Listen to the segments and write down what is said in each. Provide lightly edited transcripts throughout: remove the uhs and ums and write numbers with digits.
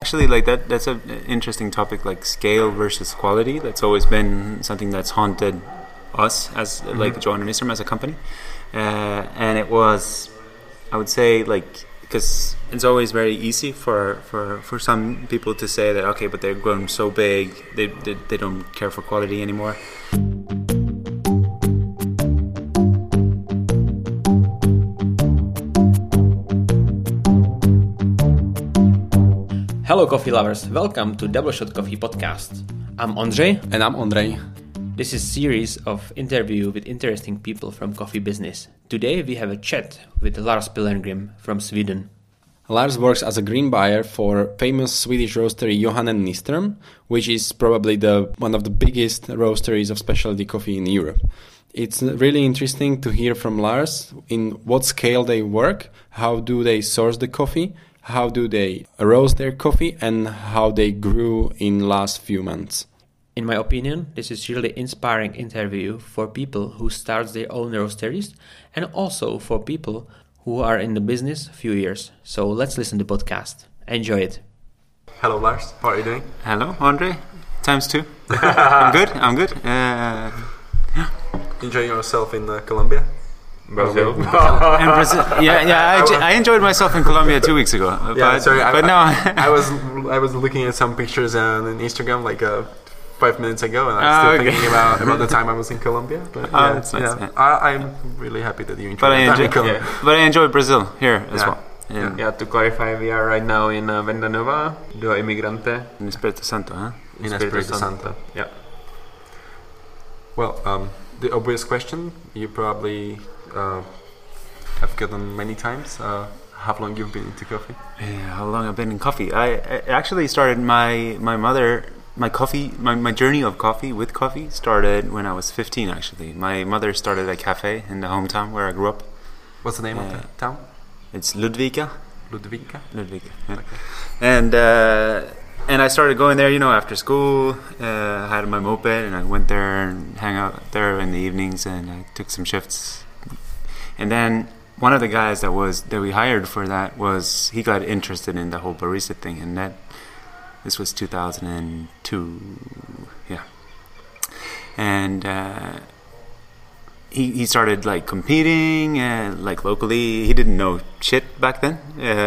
actually, like that's an interesting topic, like scale versus quality. That's always been something that's haunted us as like Johan and Nyström as a company, and it was, I would say, like, because it's always very easy for some people to say that, okay, but they've grown so big, they don't care for quality anymore. Hello coffee lovers, welcome to Double Shot Coffee Podcast. I'm Ondřej. And I'm Ondřej. This is a series of interview with interesting people from coffee business. Today we have a chat with Lars Pilgrim from Sweden. Lars works as a green buyer for famous Swedish roastery Johan and Nyström, which is probably one of the biggest roasteries of specialty coffee in Europe. It's really interesting to hear from Lars in what scale they work, how do they source the coffee, how do they roast their coffee, and how they grew in last few months. In my opinion, this is really inspiring interview for people who start their own roasteries and also for people who are in the business a few years. So let's listen to the podcast. Enjoy it. Hello Lars, how are you doing? Hello, Ondřej. Times two. I'm good. Enjoying yourself in Colombia? Brazil. And Brazil. Yeah. I enjoyed myself in Colombia 2 weeks ago. But no. I was looking at some pictures on Instagram like 5 minutes ago, and I'm still thinking about the time I was in Colombia. But that's nice. Yeah. I'm really happy that you enjoyed it. But I enjoy Brazil here as well. Yeah, to clarify, we are right now in Venda Nova, do Emigrante. In Espírito Santo, huh? In Espírito Santo. Yeah. Well, the obvious question you probably have gotten many times. How long you've been into coffee? Yeah, how long I've been in coffee? I actually started my journey of coffee with coffee started when I was 15. Actually, my mother started a cafe in the hometown where I grew up. What's the name of the town? It's Ludvika. Ludvika. Yeah. Okay. And I started going there, after school. I had my moped, and I went there and hang out there in the evenings, and I took some shifts. And then one of the guys that we hired for that he got interested in the whole barista thing, and this was 2002, yeah. And he started like competing like locally. He didn't know shit back then,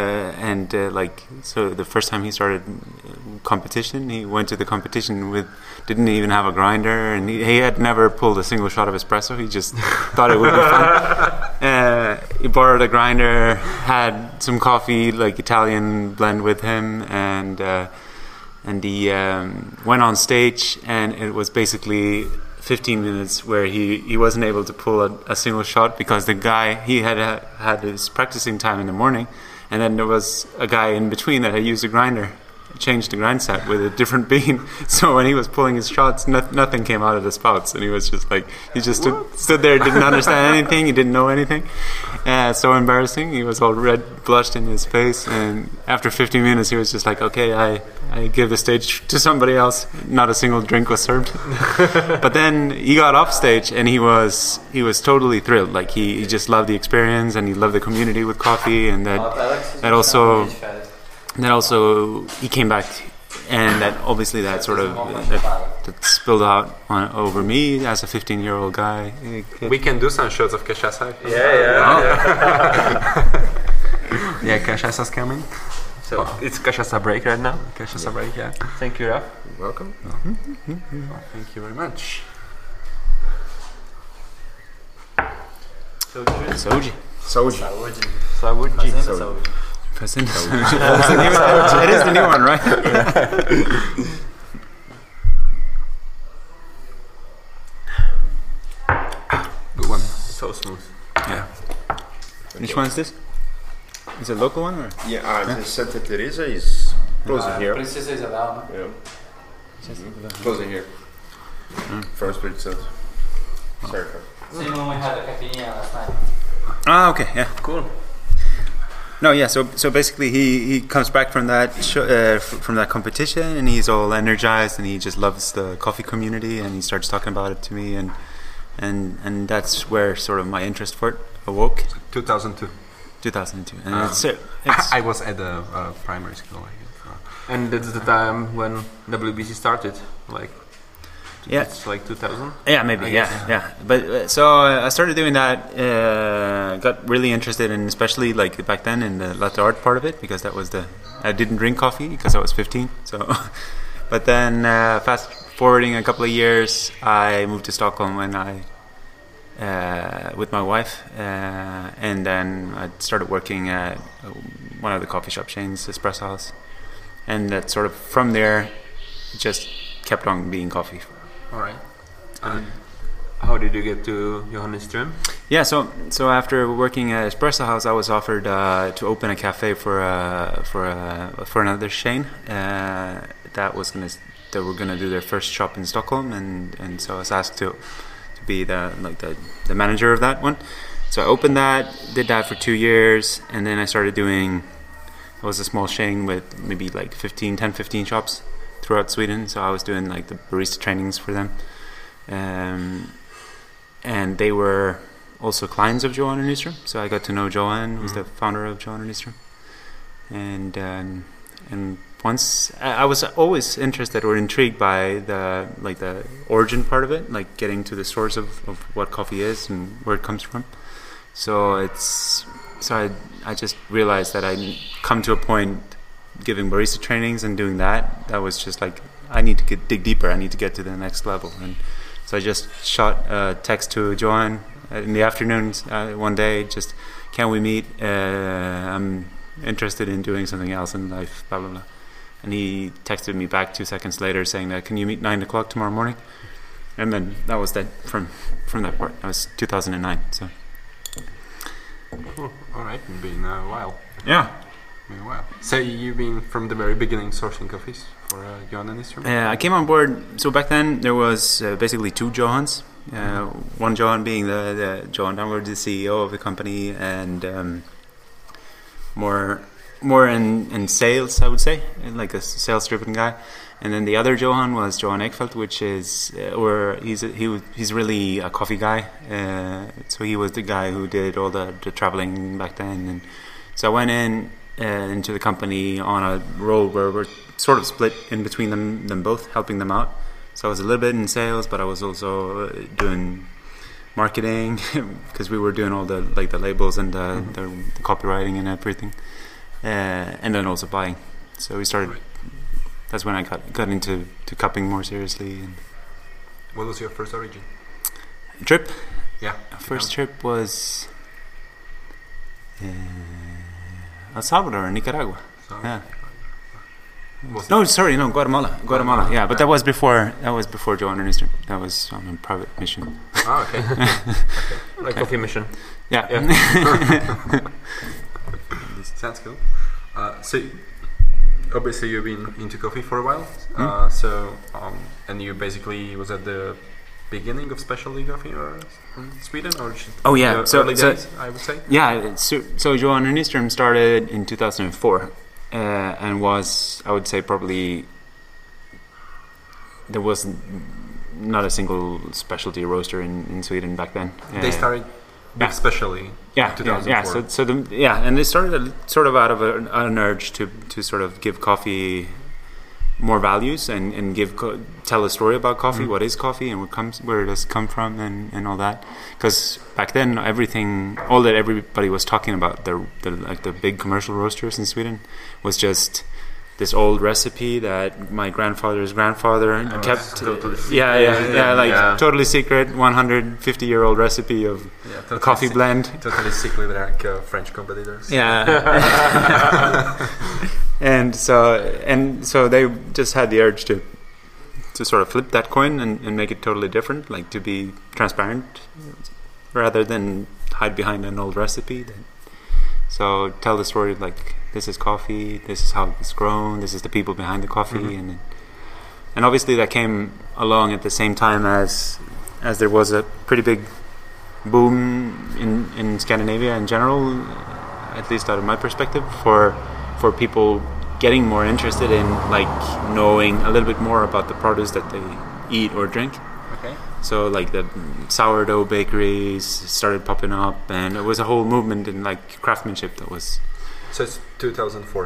so the first time he started competition, he went to the competition didn't even have a grinder, and he had never pulled a single shot of espresso. He just thought it would be fun. He borrowed a grinder, had some coffee, like Italian blend with him, and he went on stage, and it was basically 15 minutes where he wasn't able to pull a single shot because the guy, he had his practicing time in the morning, and then there was a guy in between that had used a grinder, changed the grind set with a different bean, so when he was pulling his shots, nothing came out of the spouts, and he was just like, he just stood there, didn't understand anything, he didn't know anything. So embarrassing. He was all red, blushed in his face, and after 15 minutes he was just like, okay, I give the stage to somebody else. Not a single drink was served. But then he got off stage, and he was totally thrilled. Like he just loved the experience, and he loved the community with coffee, and that also he came back, and that obviously that sort of that spilled out over me as a 15-year-old guy. We can do some shots of cachaça. Yeah, cachaça's coming. So it's cachaça break right now. Cachaça break, yeah. Thank you, Raf. You're welcome. Thank you very much. Soji. It is the new one, right? Good one. So smooth. Yeah. Which one is this? Is it a local one or? The Santa Teresa is closer here. Princesa Isabel. Yeah. Closer here. From Espírito Santo. Sorry. Same one we had a caipirinha last night. Ah, okay, yeah. Cool. No, yeah. So basically, he comes back from that from that competition, and he's all energized, and he just loves the coffee community, and he starts talking about it to me, and that's where sort of my interest for it awoke. 2002. 2002, and it's I was at the primary school. And that's the time when WBC started, like. Yeah. It's like 2000. Yeah, maybe. Yeah. But so I started doing that. Got really interested in, especially like back then, in the latte art part of it, because that was I didn't drink coffee because I was 15. So, but then fast forwarding a couple of years, I moved to Stockholm when with my wife, and then I started working at one of the coffee shop chains, Espresso House, and that sort of from there just kept on being coffee. All right. How did you get to Johan Nyström? Yeah, so after working at Espresso House, I was offered to open a cafe for another chain that were gonna do their first shop in Stockholm, and so I was asked to be the manager of that one. So I opened that, did that for 2 years, and then I started doing. It was a small chain with maybe like 15 shops throughout Sweden, so I was doing like the barista trainings for them, and they were also clients of Johan Nyström. So I got to know Johan, who's the founder of Johan Nyström, and once I was always interested or intrigued by the origin part of it, like getting to the source of what coffee is and where it comes from. So I just realized that I'd come to a point giving barista trainings and doing that was just like, I need to dig deeper, I need to get to the next level. And so I just shot a text to Johan in the afternoons one day, just, can we meet, I'm interested in doing something else in life, blah blah blah. And he texted me back 2 seconds later saying that, can you meet 9 o'clock tomorrow morning? And then that was that from that part. That was 2009. So cool. All right, it's been a while. Yeah. Wow. So you've been from the very beginning sourcing coffees for Johan Nyström? I came on board. So back then there was basically 2 Johans. One Johan being the Johan Damgaard, the CEO of the company, and more in sales, I would say, like a sales-driven guy. And then the other Johan was Johan Ekfeldt, which is he's really a coffee guy. So he was the guy who did all the traveling back then, and so I went into the company on a role where we're sort of split in between them both, helping them out. So I was a little bit in sales, but I was also doing marketing because we were doing all the labels and the copywriting and everything, and then also buying. So we started. That's when I got into cupping more seriously. And what was your first origin? Trip? Yeah. First trip was El Salvador and Nicaragua. Yeah. Guatemala. Yeah, but that was before Johan Nyström. That was on a private mission. Oh, okay. Like coffee mission. Yeah. Sounds cool. So obviously you've been into coffee for a while. And you basically was at the beginning of specialty coffee in Sweden, or early days, I would say. Yeah, so Johan Nyström started in 2004, and was, I would say, probably there was not a single specialty roaster in Sweden back then. They started with specialty. Yeah, 2004. And they started sort of out of an urge to sort of give coffee more values and tell a story about coffee. What is coffee and where it does come from and all that. Because back then all that everybody was talking about, the big commercial roasters in Sweden, was just this old recipe that my grandfather's grandfather kept. Totally secret 150-year-old recipe of a coffee blend. Totally secret, like French competitors. Yeah. And so they just had the urge to sort of flip that coin and make it totally different, like to be transparent rather than hide behind an old recipe. So tell the story of like, this is coffee, this is how it's grown, this is the people behind the coffee, and obviously that came along at the same time as there was a pretty big boom in Scandinavia in general, at least out of my perspective, for people getting more interested in like knowing a little bit more about the produce that they eat or drink. Okay. So like the sourdough bakeries started popping up, and it was a whole movement in like craftsmanship that was. So it's 2004.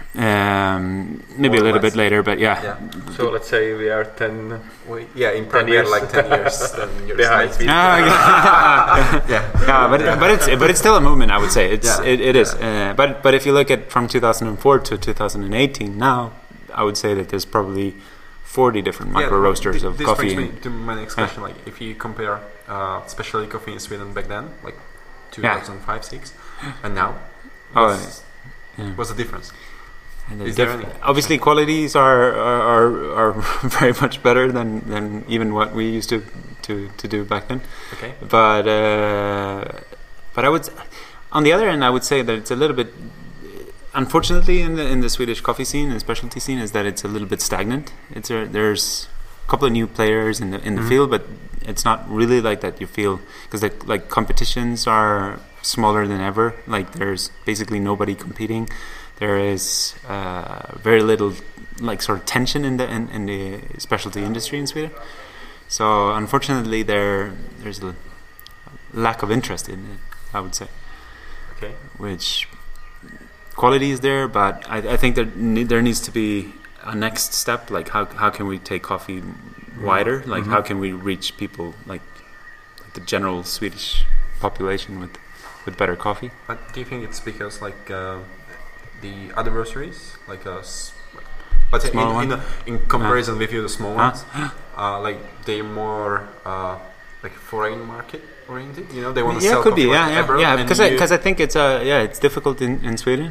Maybe a Or little less. bit later, but yeah. Yeah. So let's say we are 10. Yeah, in Prague we are years. like 10 years. 10 years Behind. late. Yeah, but it's still a movement. I would say it is. But if you look at from 2004 to 2018, now I would say that there's probably 40 different micro roasters of this coffee. brings me to my next question. Like, if you compare specialty coffee in Sweden back then, like 2005, 6, and now, what's the difference? And Is there any? Obviously, qualities are very much better than even what we used to do back then. Okay. But I would, on the other end, I would say that it's a little bit, unfortunately, in the Swedish coffee scene and specialty scene, is that it's a little bit stagnant. There's a couple of new players in the field, but it's not really like that. You feel because like competitions are smaller than ever. Like there's basically nobody competing. There is very little like sort of tension in the specialty industry in Sweden. So unfortunately, there's a lack of interest in it, I would say. Okay. Which quality is there, but I think there needs to be a next step. Like how can we take coffee wider? Like how can we reach people like the general Swedish population with better coffee? But do you think it's because like the other roasteries, like but in comparison with you, the small ones, like they're more like foreign market oriented? You know, they want to sell could coffee be, like abroad, yeah. and Because I think it's difficult in Sweden.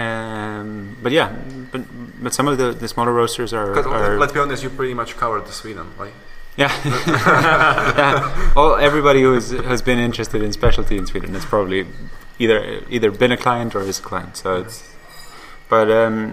But some of the smaller roasters are. Let's be honest, you pretty much covered the Sweden, like. Yeah. Everybody who has been interested in specialty in Sweden has probably either been a client or is a client. So it's, but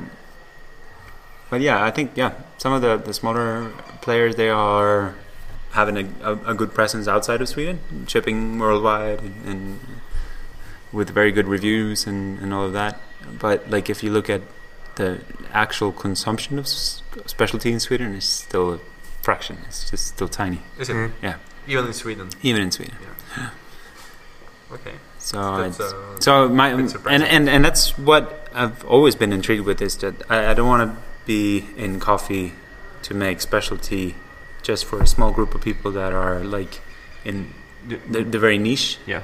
yeah, I think some of the smaller players, they are having a good presence outside of Sweden, shipping worldwide and with very good reviews and all of that. But like if you look at the actual consumption of specialty in Sweden, it's still a fraction. It's just still tiny. Is it? Yeah. Even in Sweden. Even in Sweden. Yeah. Okay. So that's and that's what I've always been intrigued with, is that I don't want to be in coffee to make specialty just for a small group of people that are like in the very niche. Yeah.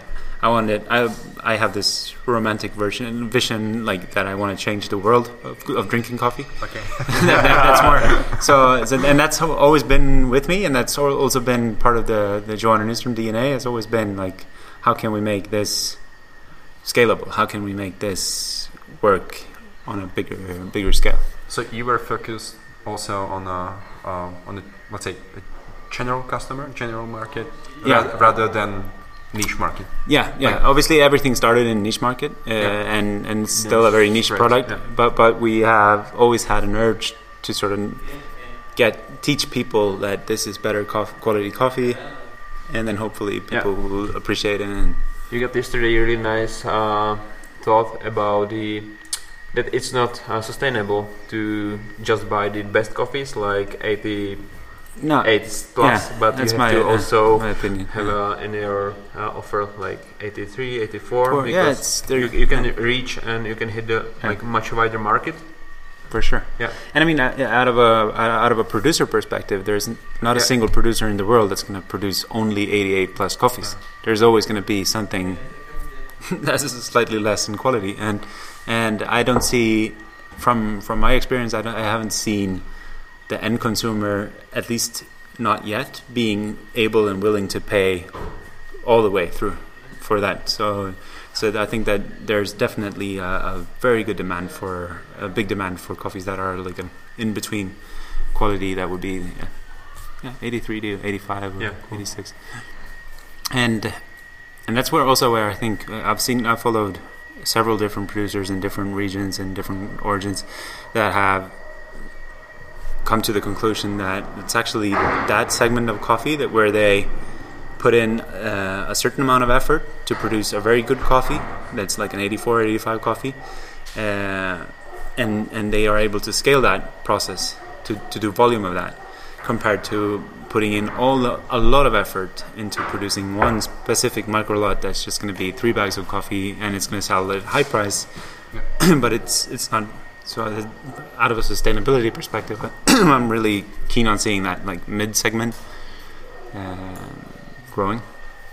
I have this romantic vision like that I want to change the world of drinking coffee. Okay. That's more so and that's always been with me, and that's also been part of the Johan and Nyström DNA. Has always been like, how can we make this scalable? How can we make this work on a bigger scale? So you were focused also on the, let's say, a general customer, general market, rather than niche market. Yeah. Like, obviously, everything started in niche market, and it's still a very niche product. Yeah. But we have always had an urge to sort of teach people that this is better quality coffee, and then hopefully people will appreciate it. And you got yesterday a really nice thought about that it's not sustainable to just buy the best coffees like 88 plus, but you have to also my opinion. have in your offer like 83, 84, Well, because you can reach and you can hit the like much wider market. For sure. Yeah. And I mean, out of a producer perspective, there's not a single producer in the world that's going to produce only 88 plus coffees. There's always going to be something that's slightly less in quality, and I don't see, from my experience, I haven't seen the end consumer, at least not yet, being able and willing to pay all the way through for that. So I think that there's definitely a very good demand a big demand for coffees that are like an in between quality that would be 83 to 85 or 86, and that's where I think I've followed several different producers in different regions and different origins that have come to the conclusion that it's actually that segment of coffee that where they put in a certain amount of effort to produce a very good coffee that's like an 84, 85 coffee, and they are able to scale that process to do volume of that, compared to putting in a lot of effort into producing one specific micro lot that's just going to be 3 bags of coffee and it's going to sell at a high price, but it's not So out of a sustainability perspective, I'm really keen on seeing that like mid segment growing.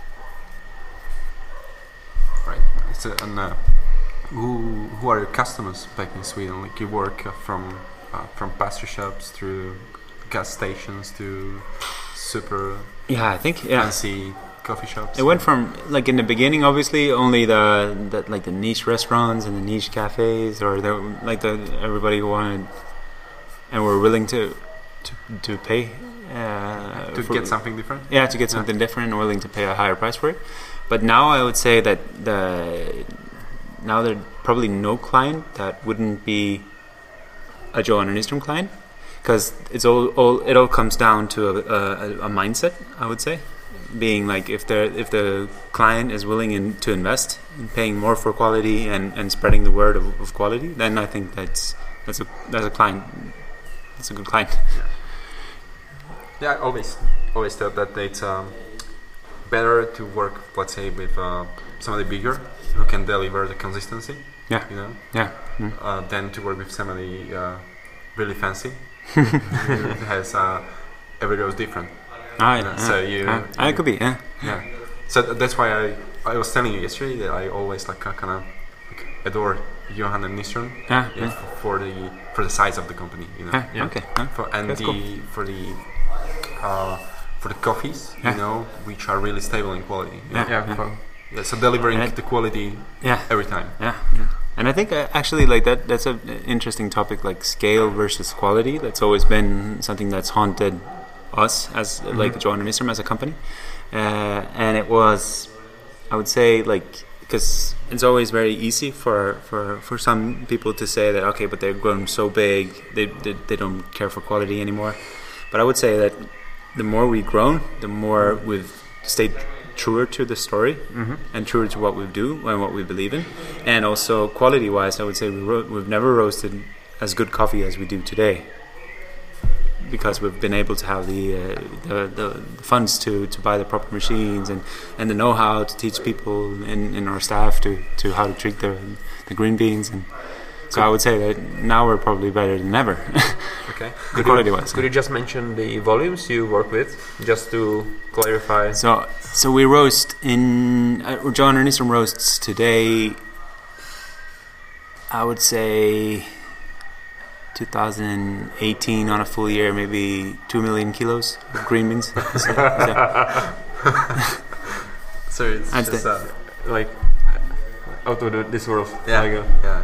Right. So, and who are your customers back in Sweden? Like you work from pastry shops through gas stations to super I think fancy coffee shops. It went from like in the beginning, obviously, only the like the niche restaurants and the niche cafes, or everybody who wanted and were willing to pay to get something different. Yeah, to get something different and willing to pay a higher price for it. But now I would say that now there's probably no client that wouldn't be a Johan & Nyström client, because it all comes down to a mindset, I would say, being like if the client is willing to invest in paying more for quality and spreading the word of quality, then I think that's a client. That's a good client. Yeah, I always thought that it's better to work, let's say, with somebody bigger who can deliver the consistency. Yeah. You know. Yeah. Than to work with somebody really fancy who has every row is different. So I could be. Yeah. So that's why I was telling you yesterday that I always kind of adore Johan & Nyström. For the size of the company, you know. Okay. For the coffees, you know, which are really stable in quality. So delivering the quality every time. And I think actually like that's an interesting topic, like scale versus quality. That's always been something that's haunted us as like Johan & Nyström as a company. And it was, I would say, like, because it's always very easy for some people to say that, okay, but they've grown so big, they don't care for quality anymore. But I would say that the more we've grown, the more we've stayed truer to the story and truer to what we do and what we believe in. And also quality-wise, I would say we've never roasted as good coffee as we do today, because we've been able to have the funds to buy the proper machines and the know-how to teach people in our staff to how to treat the green beans. And so I would say that now we're probably better than ever. Okay. Quality-wise. Could you just mention the volumes you work with, just to clarify? So we roast in Johan & Nyström roasts today, I would say 2018 on a full year, maybe 2 million kilos of green beans. So it's just like out of this world. Yeah.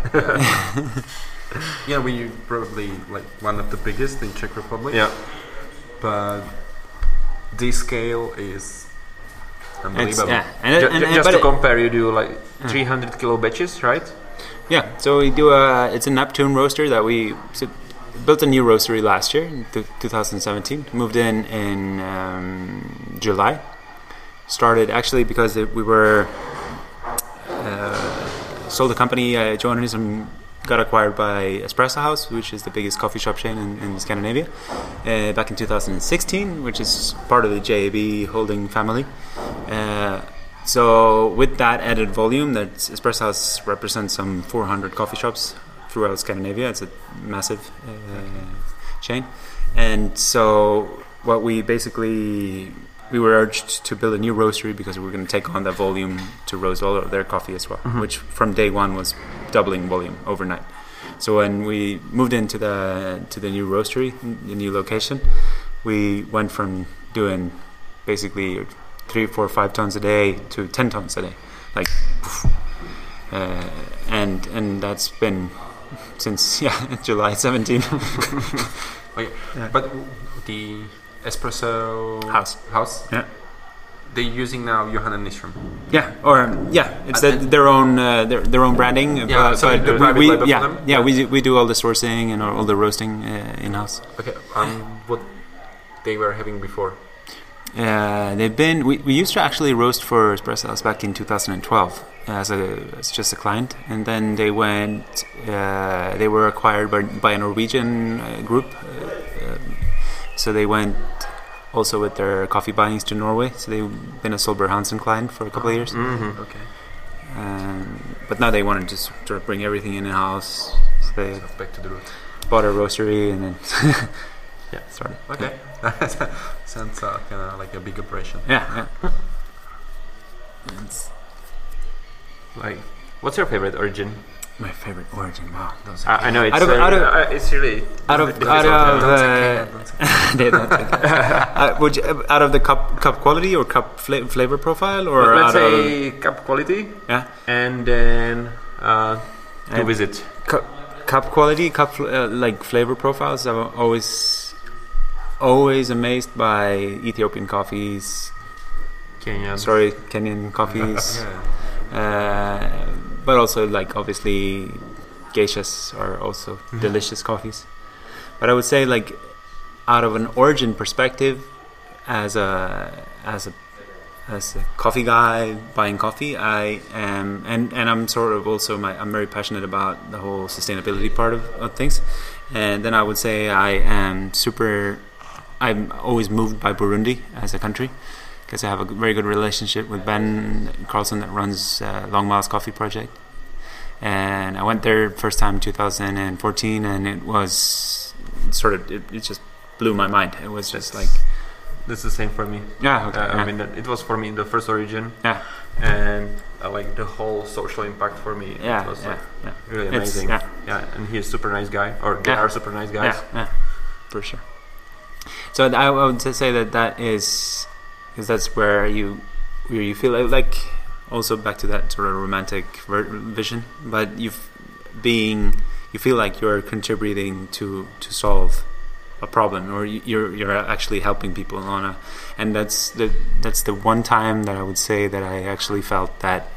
Yeah, we probably like one of the biggest in Czech Republic. Yeah. But this scale is unbelievable. Just to compare, you do like 300 kilo batches, right? Yeah, so we do it's a Neptune roaster that we built a new roastery last year in 2017. Moved in July. Started actually because we were sold the company. Johan & Nyström got acquired by Espresso House, which is the biggest coffee shop chain in Scandinavia, back in 2016, which is part of the JAB holding family. So with that added volume, that Espresso House represents some 400 coffee shops throughout Scandinavia. It's a massive chain. And so what we were urged to build a new roastery because we were going to take on that volume to roast all of their coffee as well, which from day one was doubling volume overnight. So when we moved into the new roastery, the new location, we went from doing basically 3, 4, 5 tons a day to 10 tons a day, like, and that's been since July 17. Okay. Yeah. But the Espresso House, they're using now Johan & Nyström. It's their own branding. We do all the sourcing and all the roasting in house. Okay, what they were having before? We used to actually roast for Espresso House back in 2012 as just a client, and then they were acquired by a Norwegian group. So they went also with their coffee buyings to Norway. So they've been a Solberg Hansen client for a couple of years. Okay. But now they wanted to sort of bring everything in house, They So back to the root. bought a roastery and then Yeah. started. Okay. Sounds kind of like a big operation. Yeah. Like, what's your favorite origin? My favorite origin. Wow. I know it's Out of- it's really Out of they don't take it. Would you, out of the cup quality or cup flavor profile, or let's out say cup quality, yeah, and then to And- visit. cup quality, like flavor profiles? I'm always amazed by Ethiopian coffees. Kenyan coffees. Yeah. But also, like, obviously, geishas are also delicious coffees. But I would say, like, out of an origin perspective, as a coffee guy buying coffee, I am, and I'm sort of also I'm very passionate about the whole sustainability part of things. And then I would say I'm always moved by Burundi as a country, because I have a very good relationship with Ben Carlson that runs Long Miles Coffee Project. And I went there first time in 2014, and it was it just blew my mind. It was just like... That's the same for me. Yeah, okay. I mean, it was for me the first origin. Yeah. And like the whole social impact for me. Yeah, It was yeah, like yeah. really It's- amazing. yeah. And he's a super nice guy, or they Yeah. are super nice guys. Yeah, for sure. So I would say that is... because that's where you feel like also back to that sort of romantic vision, but you feel like you're contributing to solve a problem, or you're actually helping people and that's the one time that I would say that I actually felt that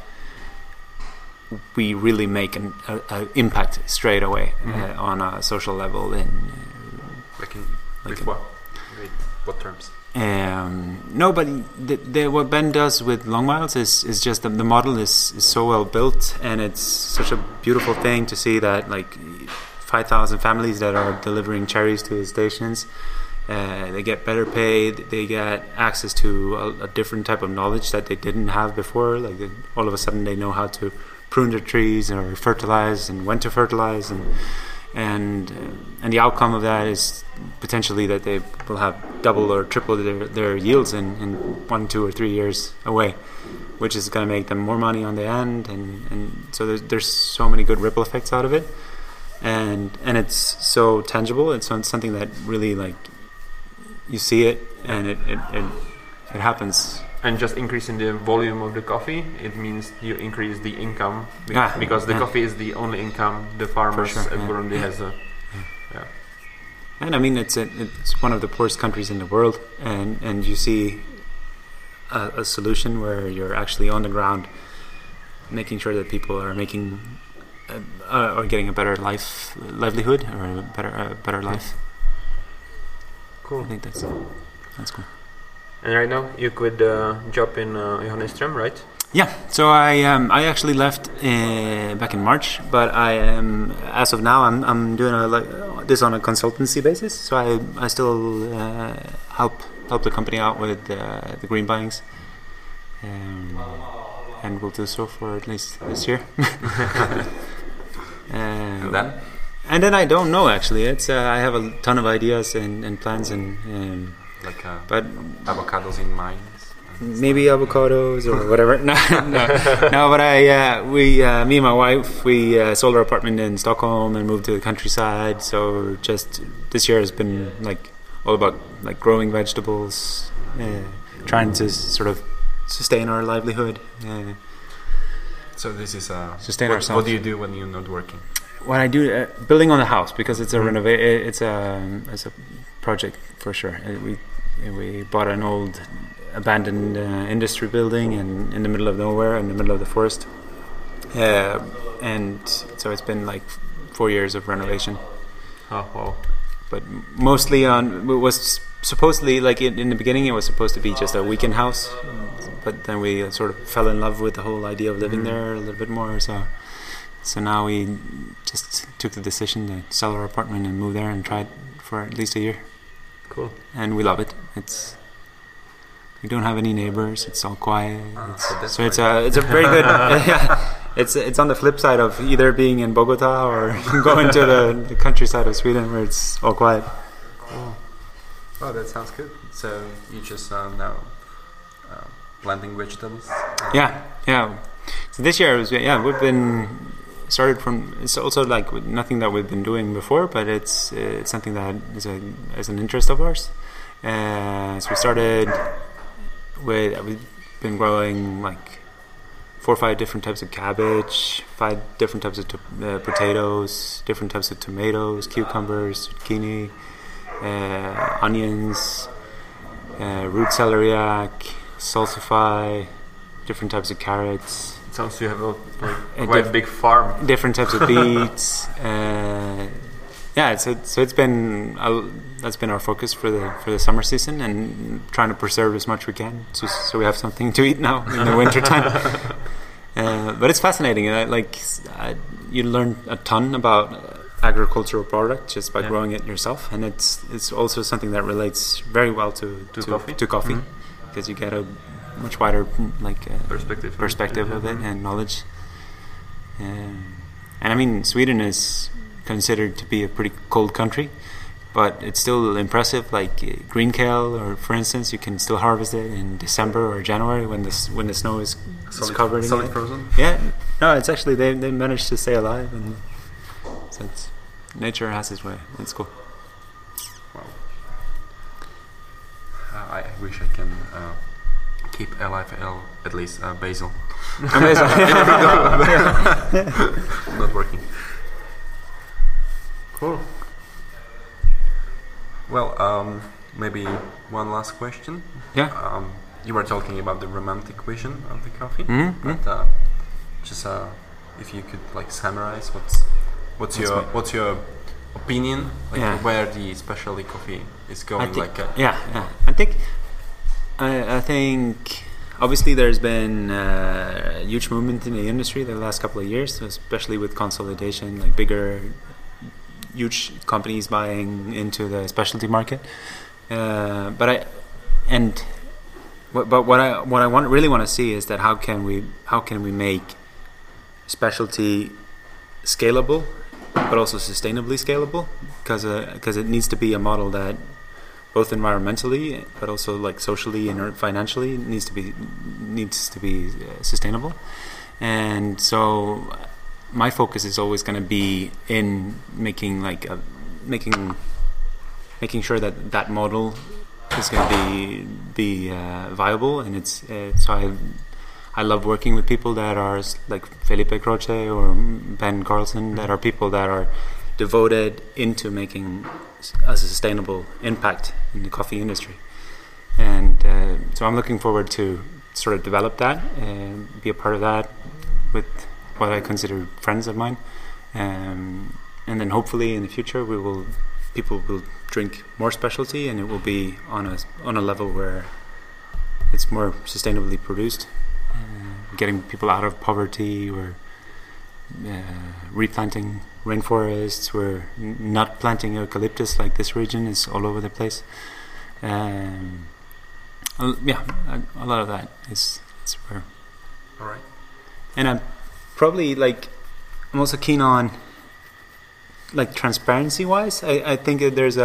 we really make an impact straight away on a social level With Like what? With what terms? No, but what Ben does with Long Miles is just the model is so well built, and it's such a beautiful thing to see that, like, 5,000 families that are delivering cherries to his stations. They get better paid. They get access to a different type of knowledge that they didn't have before. Like, all of a sudden they know how to prune their trees or fertilize and when to fertilize, and the outcome of that is potentially that they will have double or triple their yields in 1, 2, or 3 years away, which is going to make them more money on the end, and so there's so many good ripple effects out of it, and it's so tangible. It's something that really, like, you see it and it happens. And just increasing the volume of the coffee, it means you increase the income because the coffee is the only income the farmers in Burundi has. And I mean, it's one of the poorest countries in the world, and you see a solution where you're actually on the ground, making sure that people are making or getting a better livelihood, or a better life. Cool. I think that's cool. And right now you could job in Johannesström, right? Yeah, so I actually left back in March, but I am, as of now, I'm doing this on a consultancy basis. So I still help the company out with the green buyings, and will do so for at least this year. And then I don't know, actually. It's I have a ton of ideas and plans but avocados in mines. Maybe avocados or whatever. No, but me and my wife, we sold our apartment in Stockholm and moved to the countryside. So just this year has been like all about like growing vegetables, trying to sort of sustain our livelihood. So this is sustain ourselves. What do you do when you're not working? What I do, building on the house, because it's a it's a project for sure. We bought an old abandoned industry building in the middle of nowhere, in the middle of the forest, and so it's been like 4 years of renovation. Oh wow! But mostly it was supposedly, like, in the beginning it was supposed to be just a weekend house, but then we sort of fell in love with the whole idea of living there a little bit more. So now we just took the decision to sell our apartment and move there and try it for at least a year. Cool. And we love it. We don't have any neighbors. It's all quiet. So it's a very good. It's on the flip side of either being in Bogota or going to the countryside of Sweden where it's all quiet. Cool. Oh, that sounds good. So you just now planting vegetables? Yeah. So this year we've been started from. It's also like nothing that we've been doing before, but it's something that is an interest of ours. So we started with we've been growing like 4 or 5 different types of cabbage, 5 different types of potatoes, different types of tomatoes, cucumbers, zucchini, onions, root celeriac, salsify, different types of carrots. It sounds you have a quite big farm. Different types of beets. So it's been that's been our focus for the summer season, and trying to preserve as much we can, so we have something to eat now in the winter time. But it's fascinating. You learn a ton about agricultural product just by growing it yourself, and it's also something that relates very well to coffee, because you get a much wider perspective of it and knowledge. And I mean, Sweden is considered to be a pretty cold country, but it's still impressive. Like green kale, or for instance, you can still harvest it in December or January when the snow is covered in it. Frozen. Yeah, no, it's actually they managed to stay alive, and so nature has its way. It's cool. Wow. I wish I can keep alive at least basil. Not working. Cool. Well, maybe one last question. Yeah. You were talking about the romantic vision of the coffee, but just if you could like summarize what's your opinion, where the specialty coffee is going? I think obviously there's been a huge movement in the industry the last couple of years, especially with consolidation, like bigger, huge companies buying into the specialty market. But what I really want to see is that how can we make specialty scalable, but also sustainably scalable, because it needs to be a model that both environmentally but also like socially and financially needs to be sustainable. And so my focus is always going to be in making sure that model is going to be viable. And it's so I love working with people that are like Felipe Croce or Ben Carlson, that are people that are devoted into making a sustainable impact in the coffee industry. And so I'm looking forward to sort of develop that and be a part of that with what I consider friends of mine. And then hopefully in the future people will drink more specialty, and it will be on a level where it's more sustainably produced, getting people out of poverty, or replanting rainforests. We're not planting eucalyptus like this region is all over the place. A lot of that is where. All right. And I'm probably I'm also keen on transparency wise. I think that there's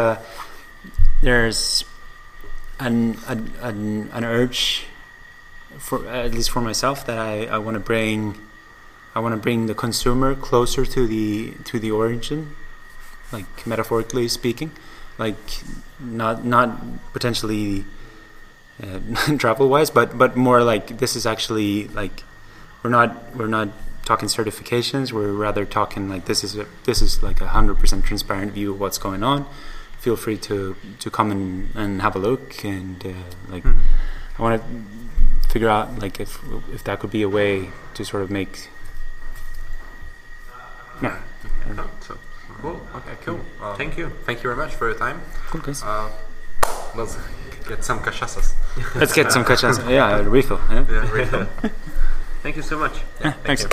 an urge, for at least for myself, that I want to bring the consumer closer to the origin, like metaphorically speaking, like not potentially travel wise, but more like this is actually like we're not talking certifications. We're rather talking like this is like 100% transparent view of what's going on. Feel free to come and have a look, and I want to figure out like if that could be a way to sort of make. Yeah. So cool. Okay. Cool. Thank you. Thank you very much for your time. Cool, guys. Let's get some cachaças. Let's get some cachaça. Yeah, a refill. Yeah, refill. Thank you so much. Yeah, thanks.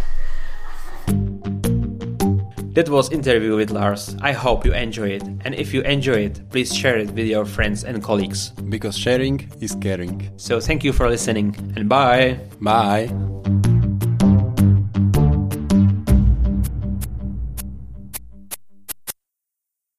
That was interview with Lars. I hope you enjoy it, and if you enjoy it, please share it with your friends and colleagues. Because sharing is caring. So thank you for listening, and bye. Bye.